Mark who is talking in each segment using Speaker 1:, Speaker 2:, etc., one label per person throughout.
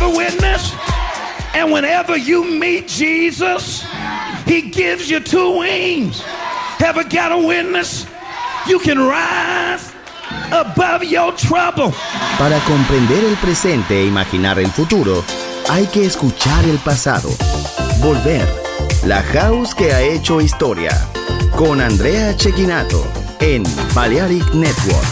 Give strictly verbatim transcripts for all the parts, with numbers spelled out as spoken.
Speaker 1: witness? And whenever you meet Jesus, he gives you two wings. Ever got a witness? You can rise above your trouble.
Speaker 2: Para comprender el presente e imaginar el futuro, hay que escuchar el pasado. Volver. La House que ha hecho historia. Con Andrea Cecchinato en Balearic Network.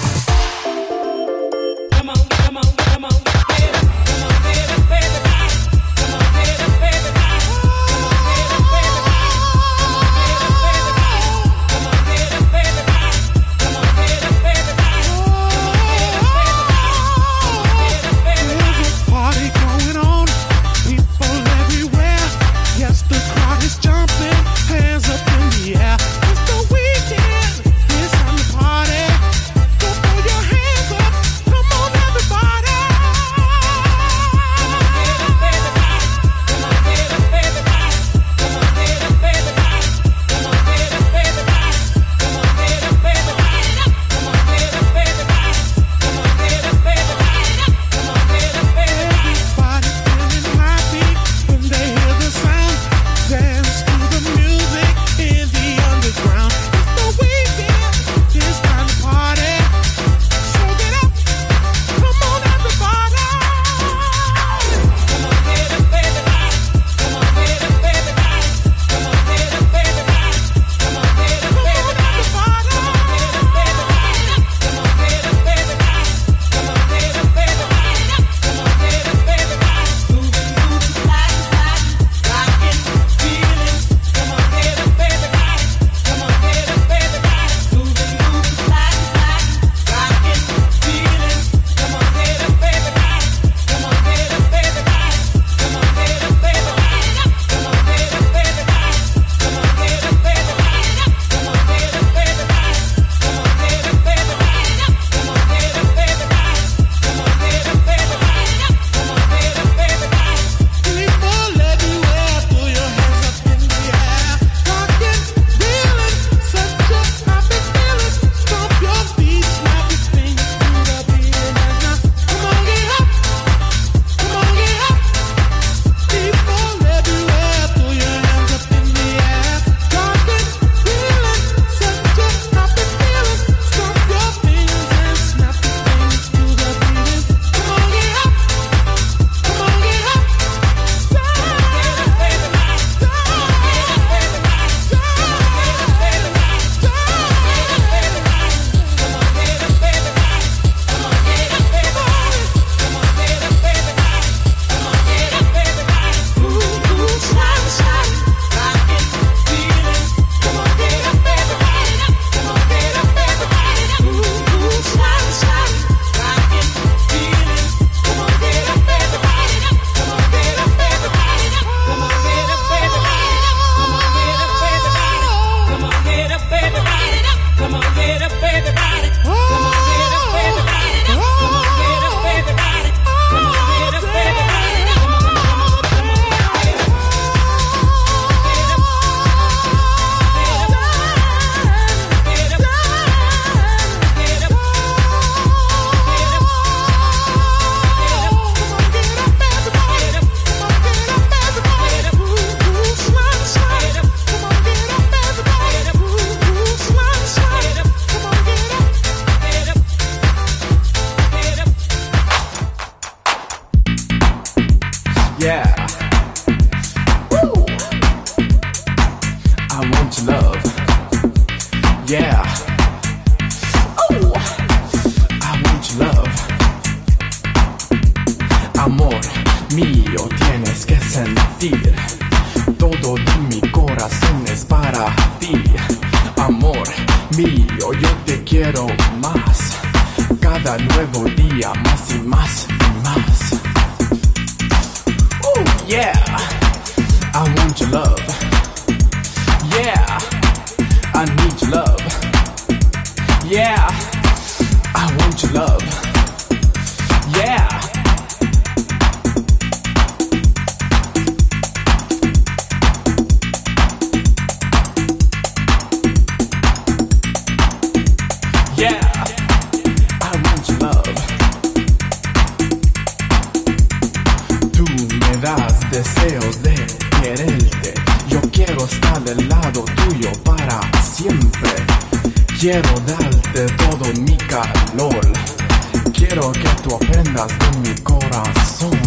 Speaker 3: To das deseos de quererte. Yo quiero estar del lado tuyo para siempre. Quiero darte todo mi calor. Quiero que tú aprendas de mi corazón.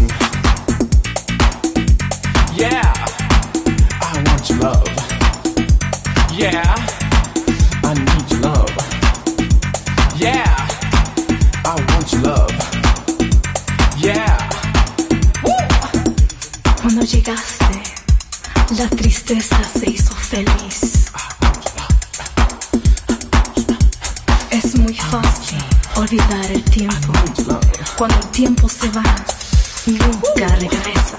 Speaker 3: Yeah, I want your love. Yeah, I need your love. Yeah, I want your love. Yeah.
Speaker 4: Cuando llegaste, la tristeza se hizo feliz. Es muy fácil olvidar el tiempo. Cuando el tiempo se va, nunca regresa.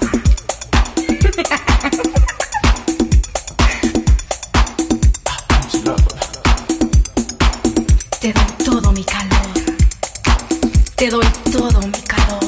Speaker 4: Te doy todo mi calor. Te doy todo mi calor.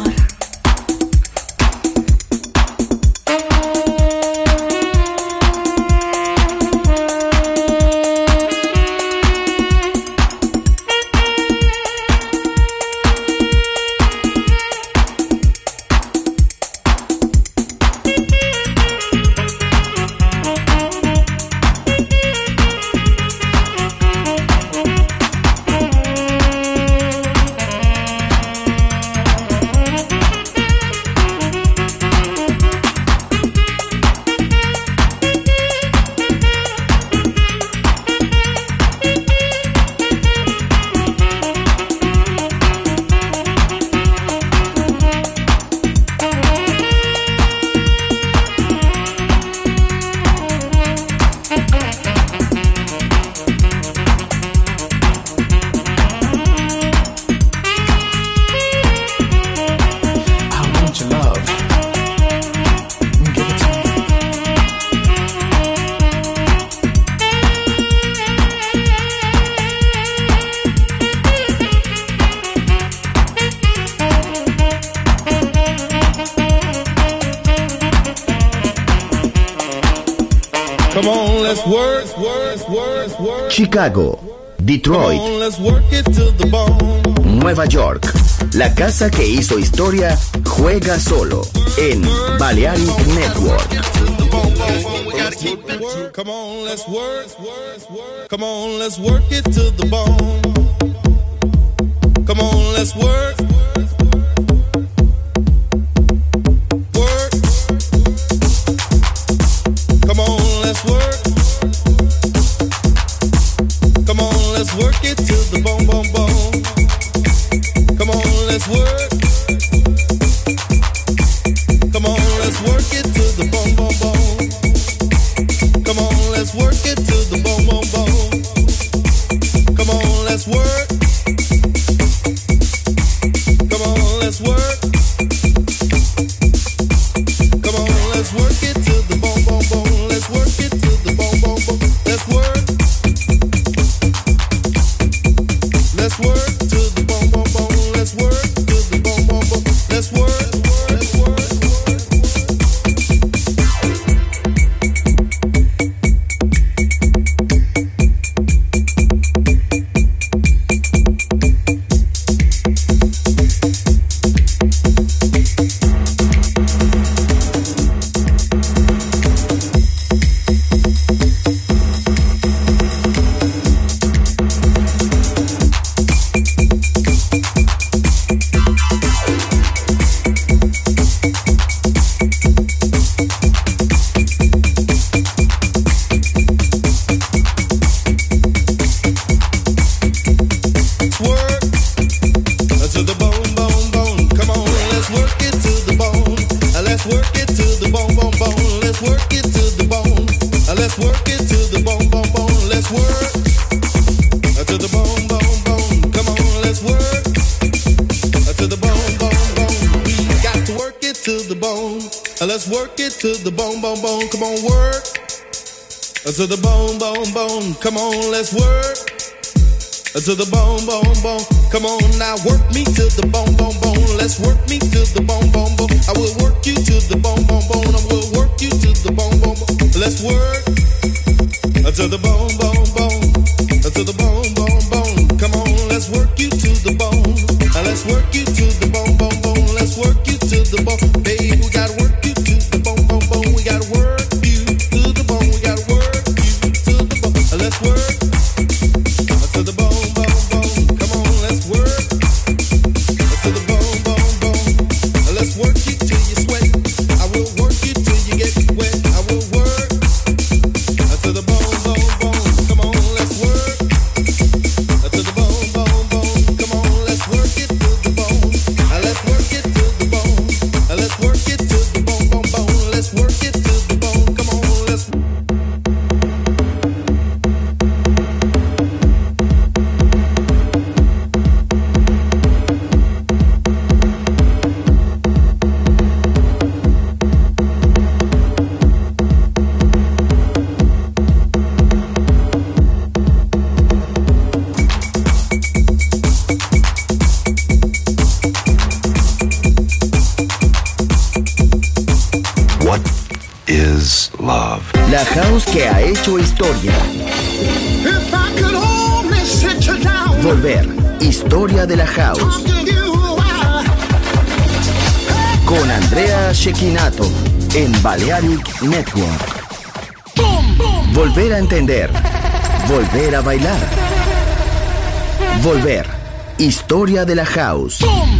Speaker 2: Chicago, Detroit, Nueva York. La casa que hizo historia juega solo en Balearic Network.
Speaker 5: Come on, let's work. Come on, let's work it to the bone. Come on, let's work. Work. Come on, let's work. Come on, let's work it to the bone, bone, bone. Come on, let's work. Come on, let's work it to the bone, bone, bone. Come on, let's work it to the bone, bone, bone. Come on, let's work. Come on, let's work. Come on, let's work it to the bone, bone, bone. Let's work it to the bone, bone, bone. Let's work. Let's work to the bone, bone, bone. Let's work to the bone, bone, bone. Let's work. Let's work. Let's work it to the bone, bone, bone. Come on, work to the bone, bone, bone. Come on, let's work to the bone, bone, bone. Come on now, work me to the bone, bone, bone. Let's work me to the bone, bone, bone. I will work you to the bone, bone, bone. I will work you to the bone, bone, bone. Let's work to the bone, bone, bone. To the bone, bone, bone. Come on, let's work you to the bone. Let's work you to the bone, bone, bone. Let's work you to the bone, babe. We gotta work you to
Speaker 2: La house que ha hecho historia. Volver, historia de la house. Con Andrea Cecchinato en Balearic Network. Volver a entender. Volver a bailar. Volver, historia de la house.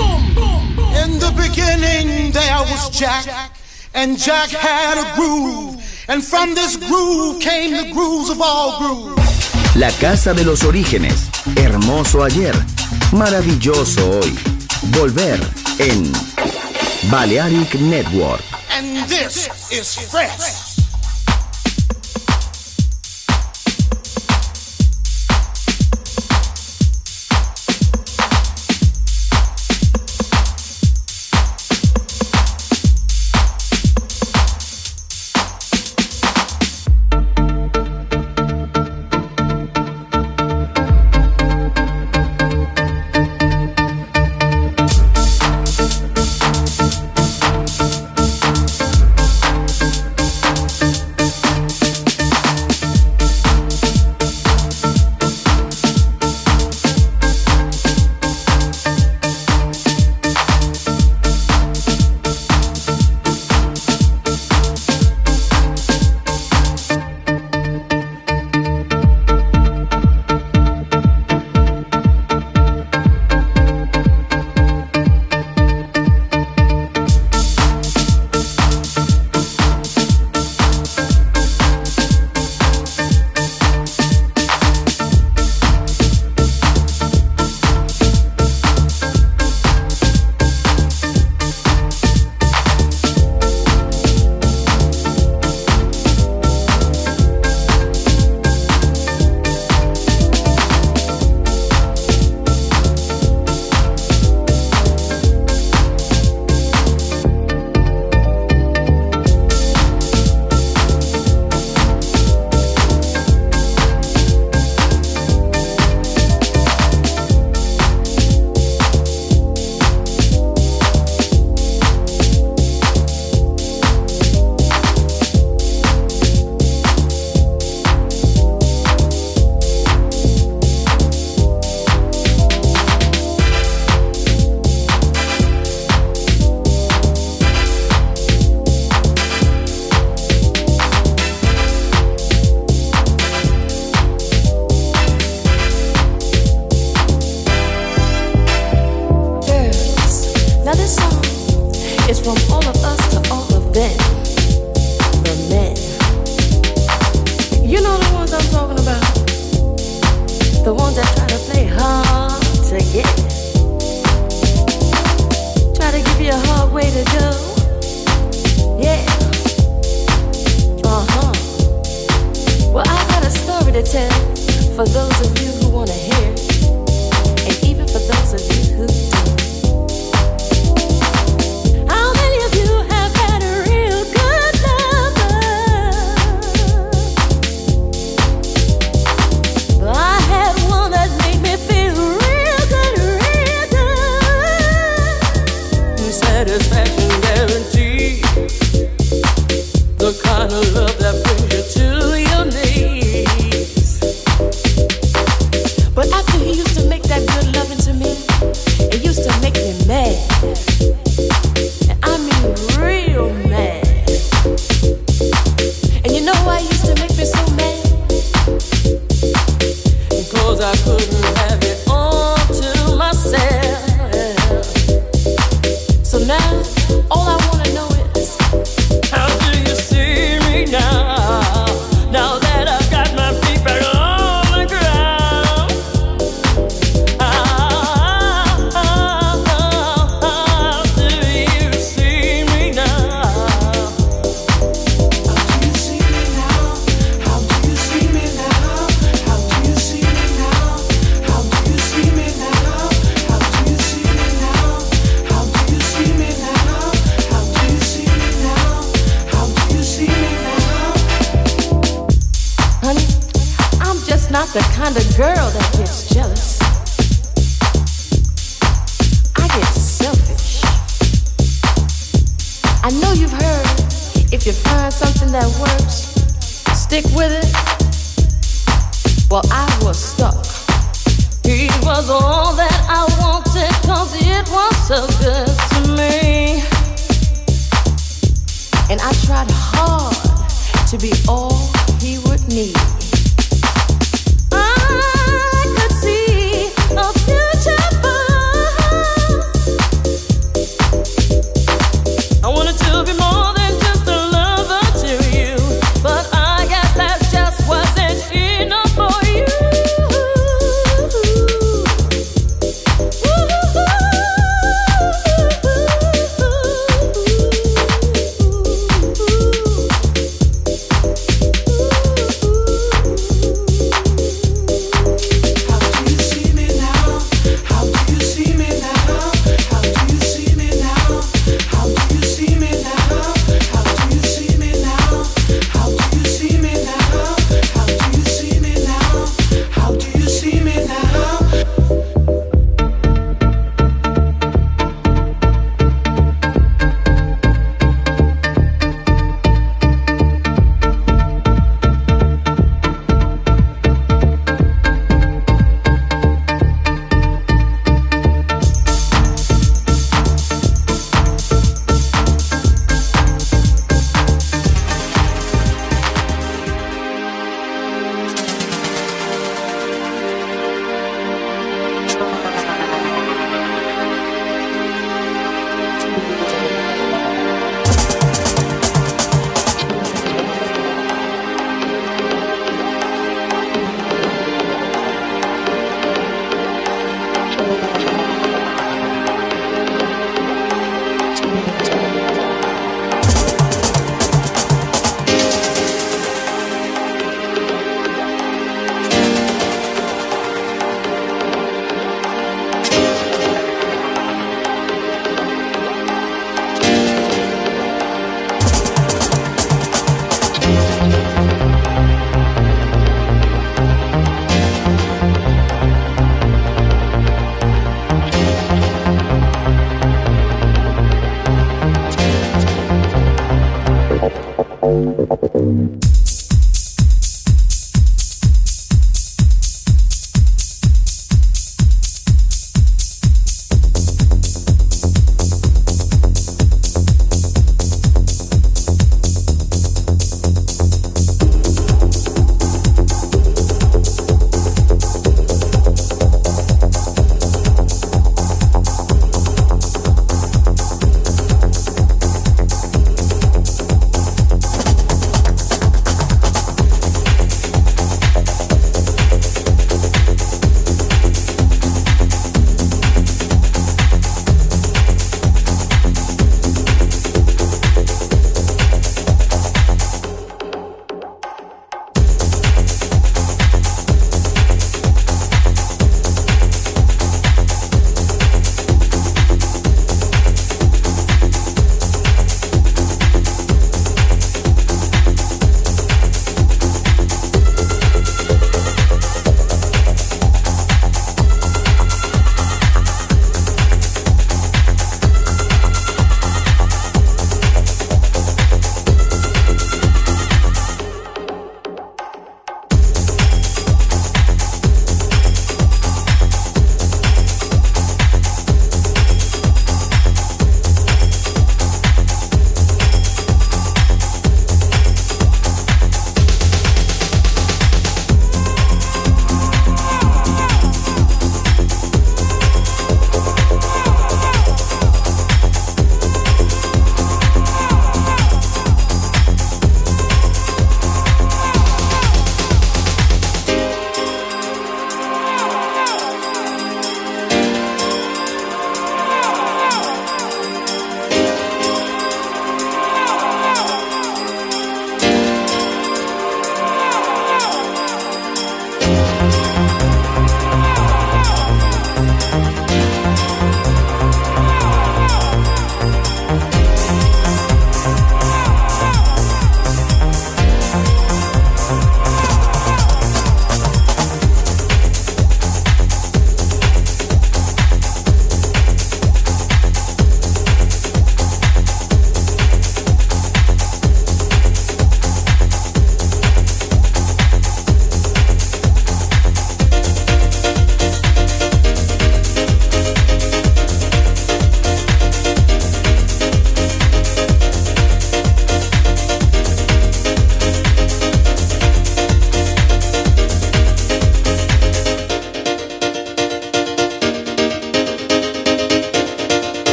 Speaker 6: In the beginning there was Jack, and Jack had a groove. And from this groove came the grooves of all grooves.
Speaker 2: La casa de los orígenes, hermoso ayer, maravilloso hoy. Volver en Balearic Network.
Speaker 6: And this is fresh.
Speaker 7: The kind of love that brings you to your knees. the kind of girl that gets jealous. I get selfish. I know you've heard, if you find something that works, stick with it. Well, I was stuck. He was all that I wanted, 'cause it was so good to me. And I tried hard to be all he would need. I could see a future for us. I wanted to be more than just a lover to you, but I guess that just wasn't enough for you.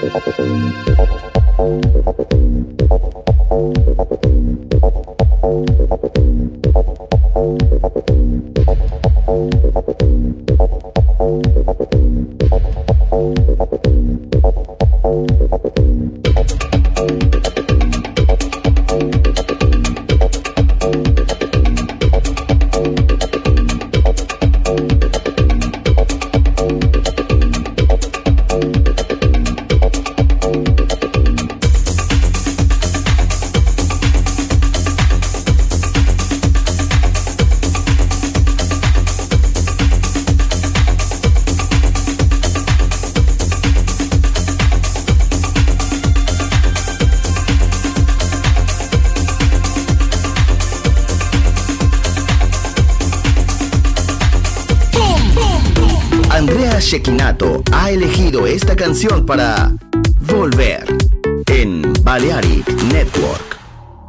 Speaker 2: Shekinato ha elegido esta canción para Volver en Balearic Network.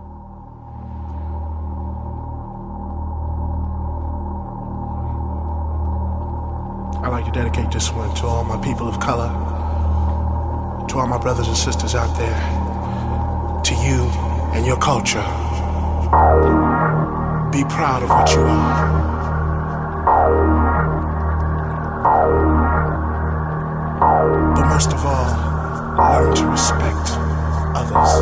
Speaker 8: I'd like to dedicate this one to all my people of color, to all my brothers and sisters out there, to you and your culture. Be proud of what you are. But most of all, learn to respect others.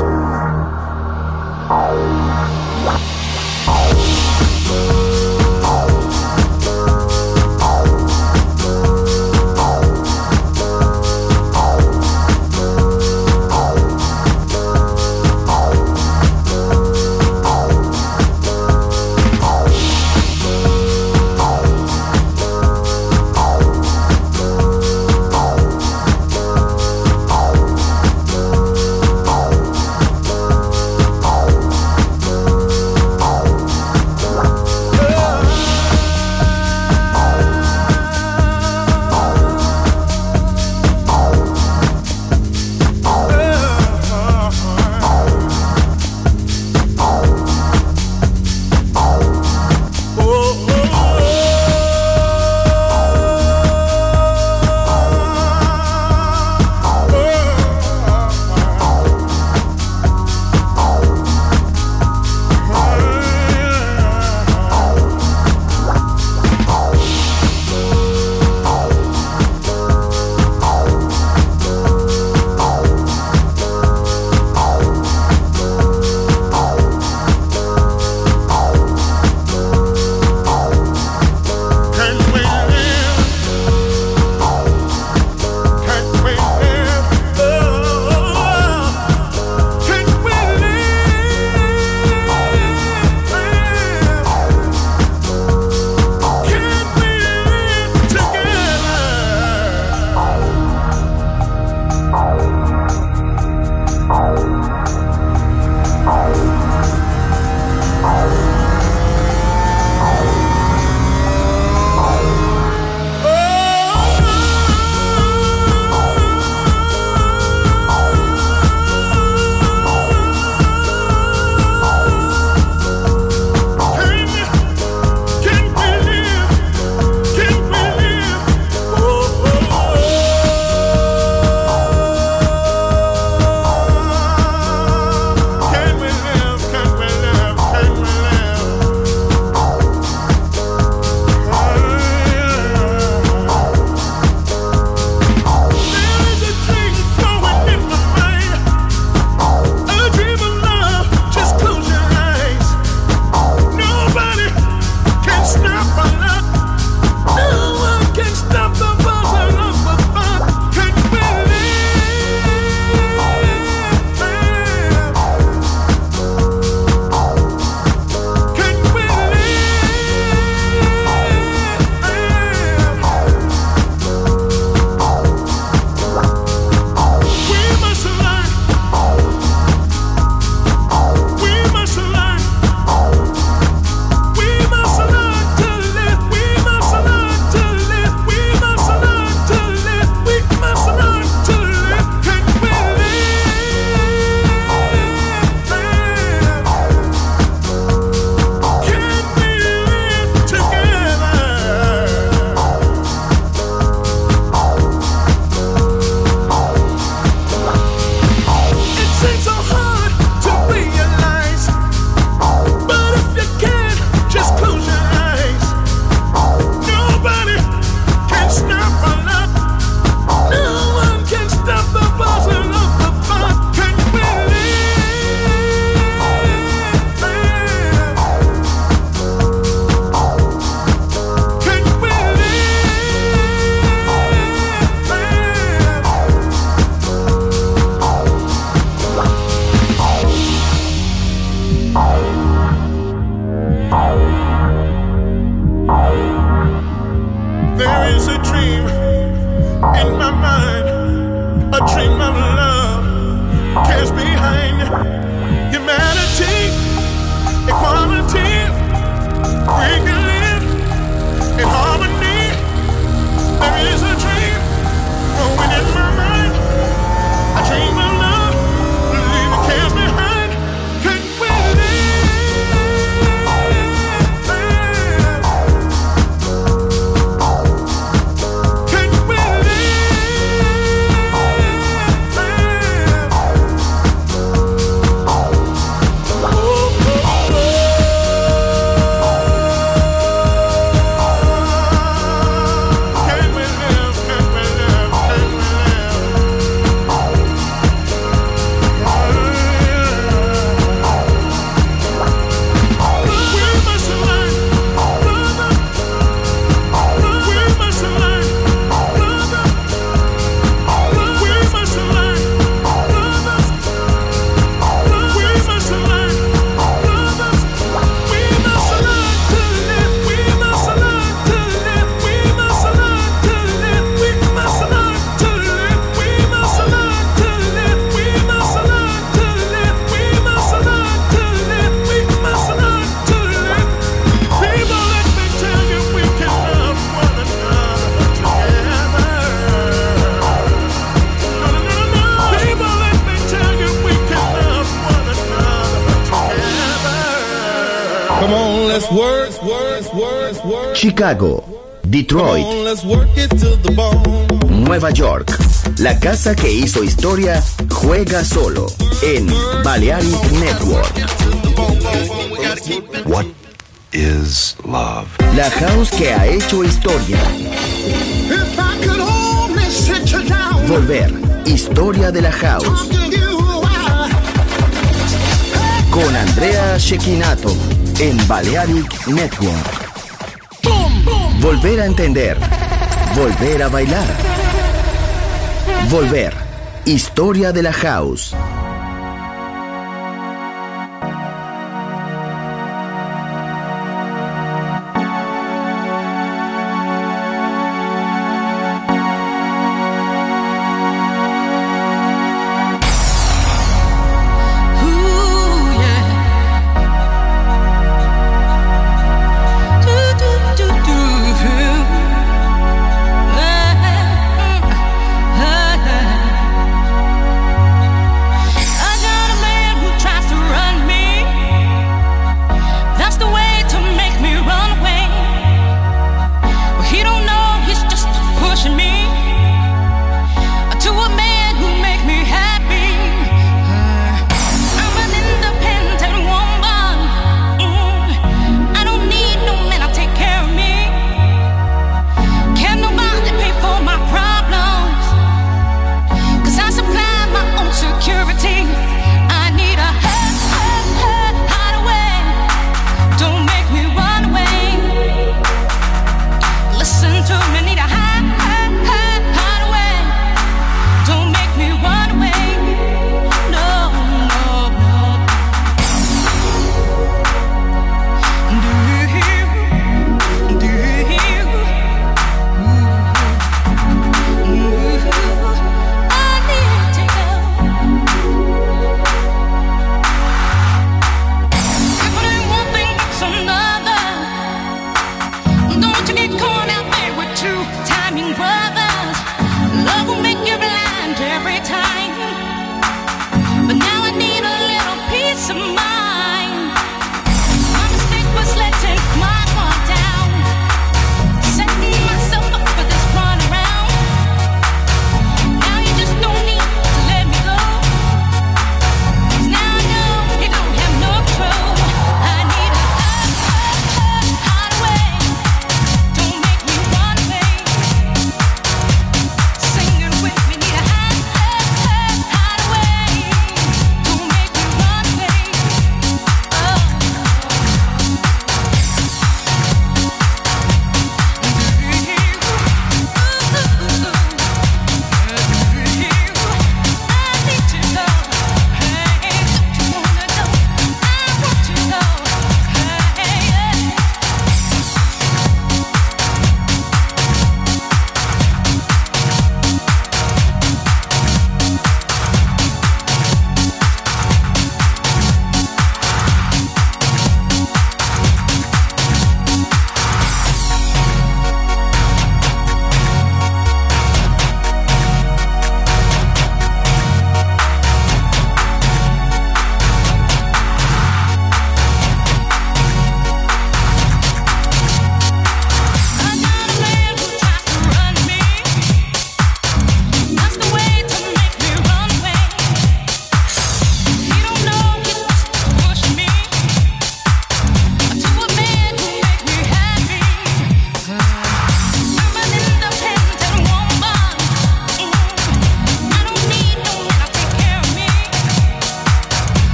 Speaker 9: There is a dream in my mind, a dream of love cares behind humanity, equality. We can live in harmony. There is a dream growing in my mind, a dream of love, leaving cares behind. Can we
Speaker 2: Chicago, Detroit, Nueva York. La casa que hizo historia juega solo en Balearic Network.
Speaker 10: What is love?
Speaker 2: La house que ha hecho historia. Volver, historia de la house. Con Andrea Cecchinato en Balearic Network. Volver a entender. Volver a bailar. Volver. Historia de la house.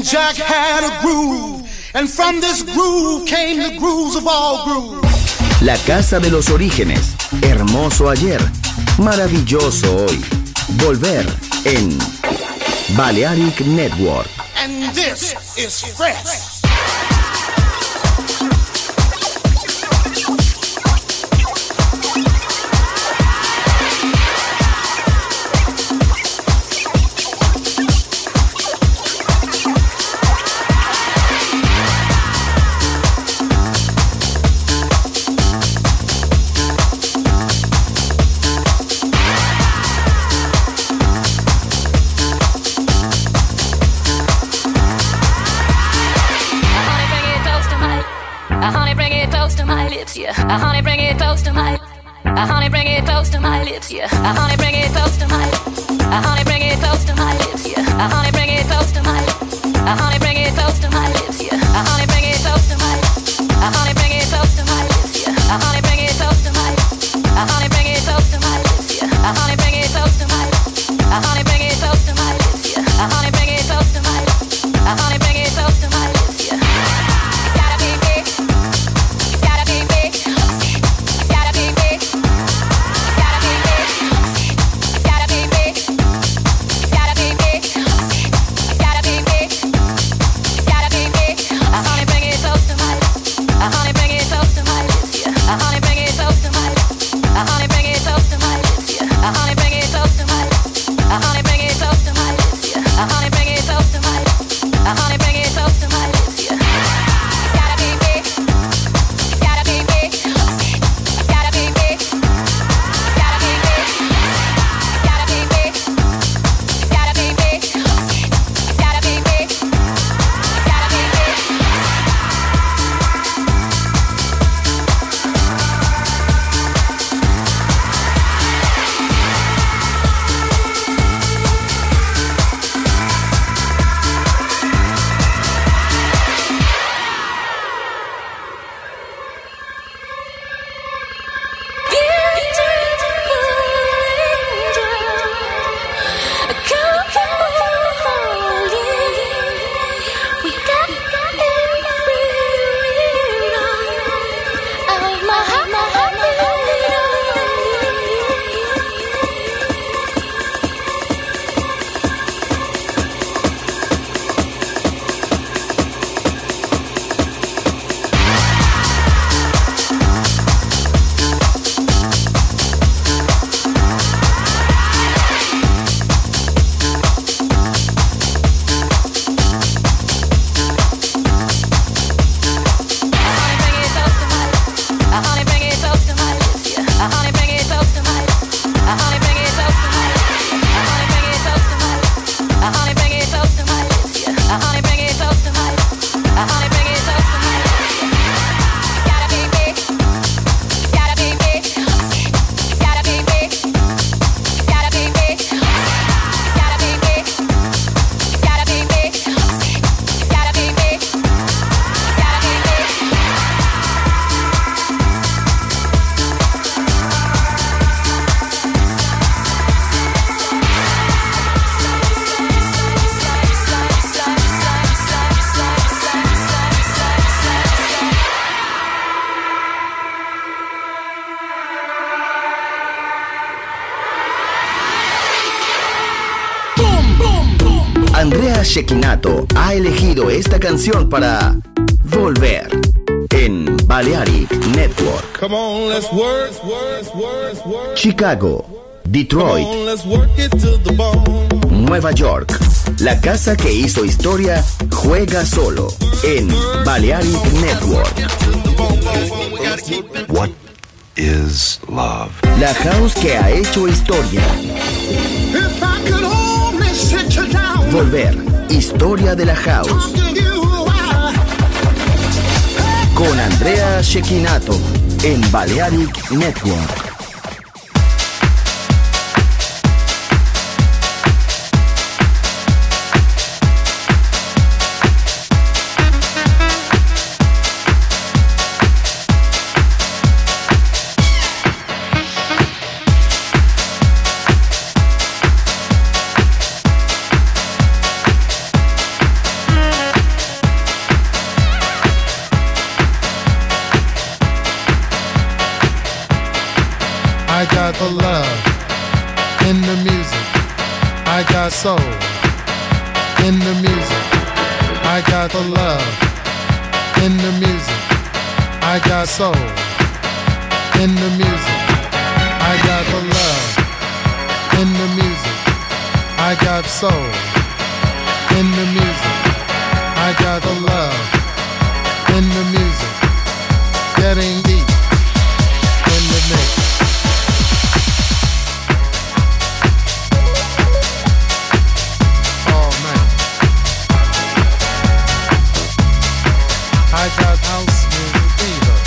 Speaker 6: Jack had a groove, and from this groove came the grooves of all grooves.
Speaker 2: La casa de los orígenes, hermoso ayer, maravilloso hoy. Volver en Balearic Network.
Speaker 6: And this is fresh.
Speaker 7: Yeah, uh, honey, bring it close to my. Uh, honey, bring it close to my lips. Yeah, uh, honey, bring it close to my. Uh, honey, bring it close to my lips. Yeah, uh, honey, bring it close to my. Uh, honey, bring it close to my lips. Yeah, uh, honey, bring it close to my. Uh, honey, bring it close to my lips. Yeah, uh, honey, bring it close to my. Uh, honey, bring it close to my lips. Yeah, uh, honey, bring it close to my. Uh, honey, bring it close to my lips. Yeah, uh, honey, bring it close to my. Uh, honey, bring it close to my lips. Yeah. It's gotta be big. It's gotta be big. It's gotta be big. It's gotta be big. It's gotta be big. It's gotta be big. It's gotta be big. It's gotta be big. Uh, honey, bring it close to my. Uh, honey, bring it close to my lips. Yeah. Uh, honey, bring it close to my. Uh, honey, bring it close to my lips. Yeah. Uh, honey, bring it close to my. Uh, honey, bring it close to my lips. Yeah. Uh, honey, bring it close to my. Uh, honey, bring it close to my lips. Yeah. It's gotta be big. It's gotta be big. It's gotta be big. It's gotta be big. It's gotta be big. It's gotta be big. It's gotta be big. It's gotta be big.
Speaker 2: Andrea Cecchinato ha elegido esta canción para Volver en Balearic Network.
Speaker 5: Come on, let's work, work, work, work.
Speaker 2: Chicago, Detroit,
Speaker 5: Come on, let's work it to the bone.
Speaker 2: Nueva York. La casa que hizo historia juega solo en Balearic Network.
Speaker 10: What is love?
Speaker 2: La house que ha hecho historia.
Speaker 6: If I could only sit you down.
Speaker 2: Volver, historia de la house. Con Andrea Cecchinato en Balearic Network.
Speaker 7: Thank
Speaker 6: the love in the music. I got soul in the music. I got the love in the music. I got soul in the music. I got the love in the music. I got soul in the music. I got the love in the music. Getting deep in the mix. Oh man, I got house music fever.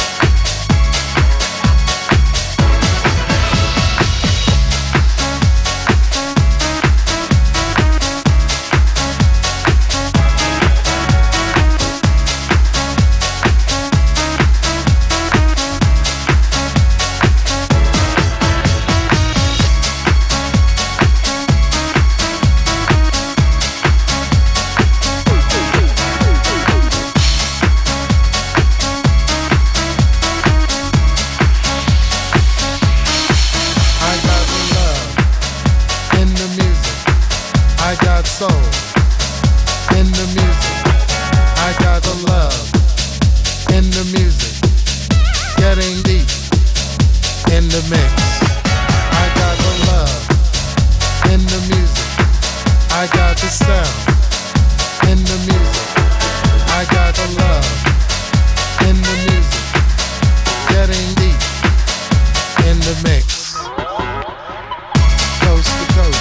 Speaker 6: Soul in the music. I got the love in the music. Getting deep in the mix. I got the love in the music. I got the sound in the music. I got the love in the music. Getting deep in the mix. Coast to coast.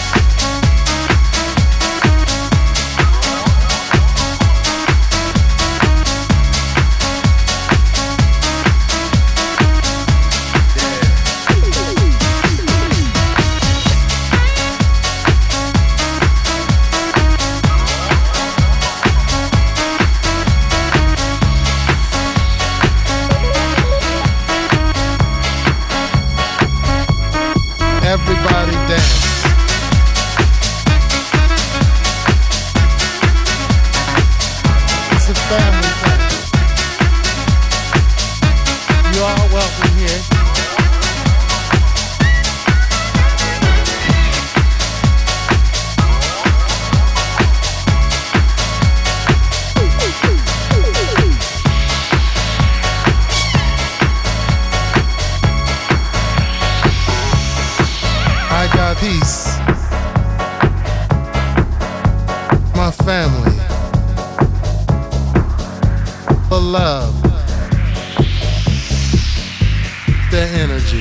Speaker 6: Everybody dance. It's a family thing. You are welcome here. I got peace, my family, the love, the energy,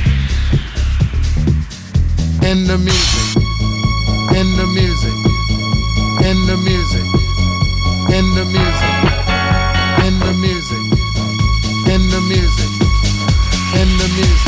Speaker 6: in the music, in the music, in the music, in the music, in the music, in the music, in the music.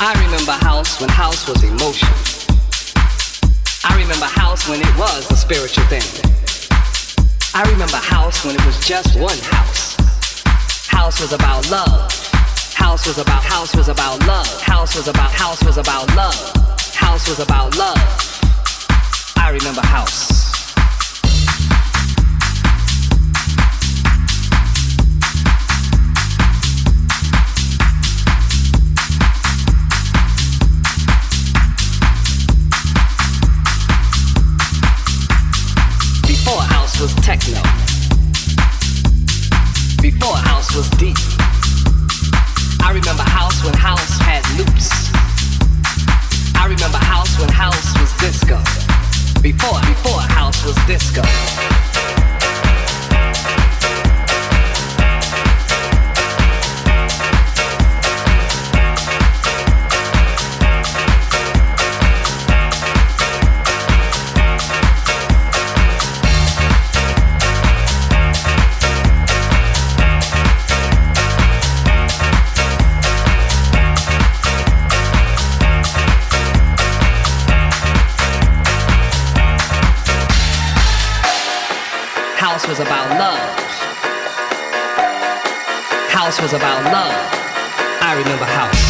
Speaker 11: I remember house when house was emotion. I remember house when it was a spiritual thing. I remember house when it was just one house. House was about love. House was about, house was about love. House was about, house was about love. House was about love. I remember house. Before house was techno. Before house was deep. I remember house when house had loops. I remember house when house was disco. Before, before house was disco. House was about love. House was about love. I remember house.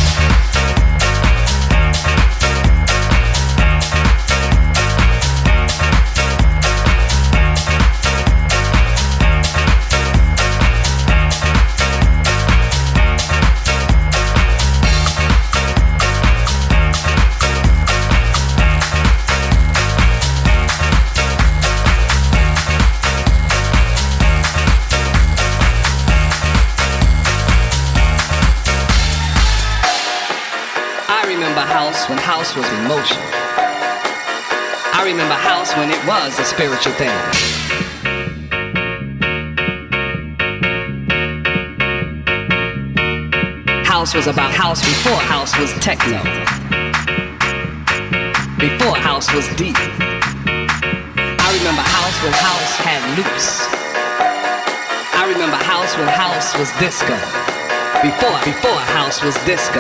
Speaker 11: When house was emotion. I remember house when it was a spiritual thing. House was about house before house was techno. Before house was deep. I remember house when house had loops. I remember house when house was disco. Before, before house was disco.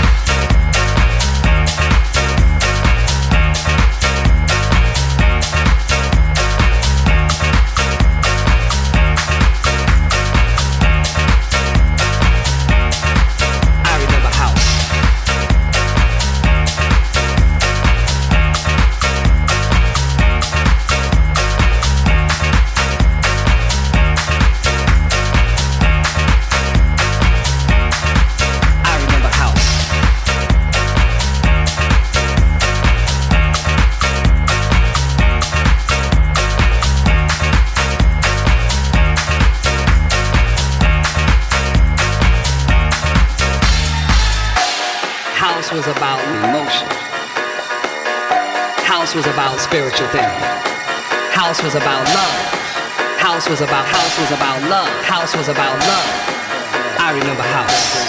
Speaker 11: House was about emotion. House was about spiritual thing. House was about love. House was about, house was about love. House was about love. I remember house.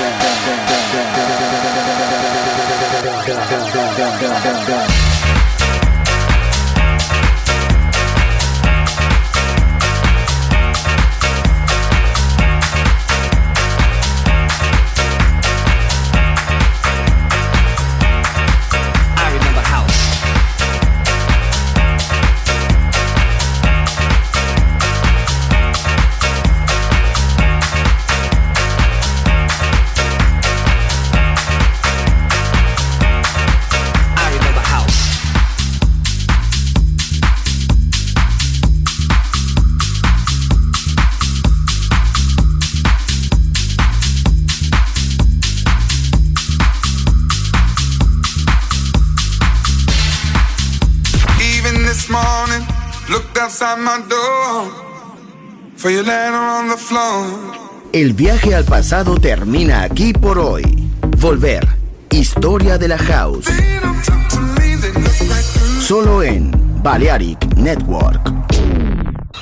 Speaker 2: El viaje al pasado termina aquí por hoy. Volver. Historia de la House. Solo en Balearic Network.